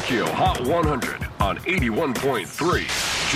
Tokyo Hot 100 on 81.3 J-Wave。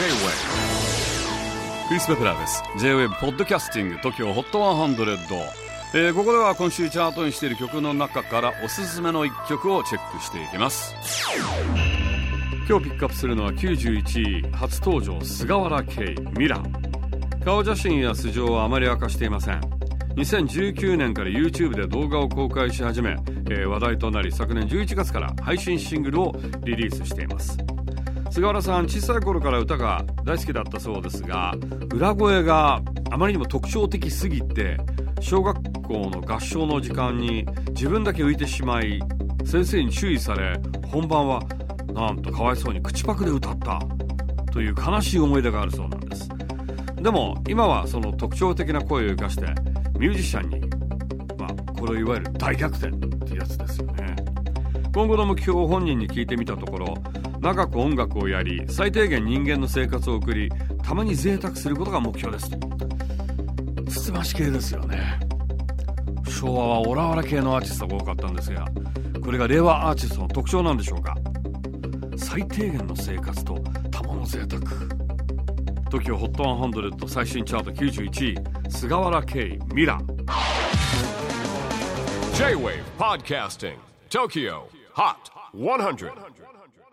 クリス・ベプラーです。 J-Wave ポッドキャスティング TOKYO HOT 100、ここでは今週チャートにしている曲の中からおすすめの1曲をチェックしていきます。今日ピックアップするのは91位初登場、菅原圭ミラ。顔写真や素性はあまり明かしていません。2019年から YouTube で動画を公開し始め、話題となり昨年11月から配信シングルをリリースしています。菅原さん、小さい頃から歌が大好きだったそうですが、裏声があまりにも特徴的すぎて小学校の合唱の時間に自分だけ浮いてしまい、先生に注意され、本番はなんとかわいそうに口パクで歌ったという悲しい思い出があるそうなんです。でも今はその特徴的な声を生かしてミュージシャンに、これをいわゆる大逆転ってやつですよね。今後の目標を本人に聞いてみたところ、長く音楽をやり最低限人間の生活を送り、たまに贅沢することが目標です。つつまし系ですよね。昭和はオラオラ系のアーティストが多かったんですが、これが令和アーティストの特徴なんでしょうか。最低限の生活とたまの贅沢。 TOKYO HOT 100最新チャート91位、菅原圭ミラ。 J-Wave Podcasting Tokyo Hot 100。